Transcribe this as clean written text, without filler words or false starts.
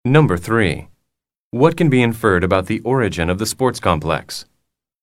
Number 3. What can be inferred about the origin of the sports complex?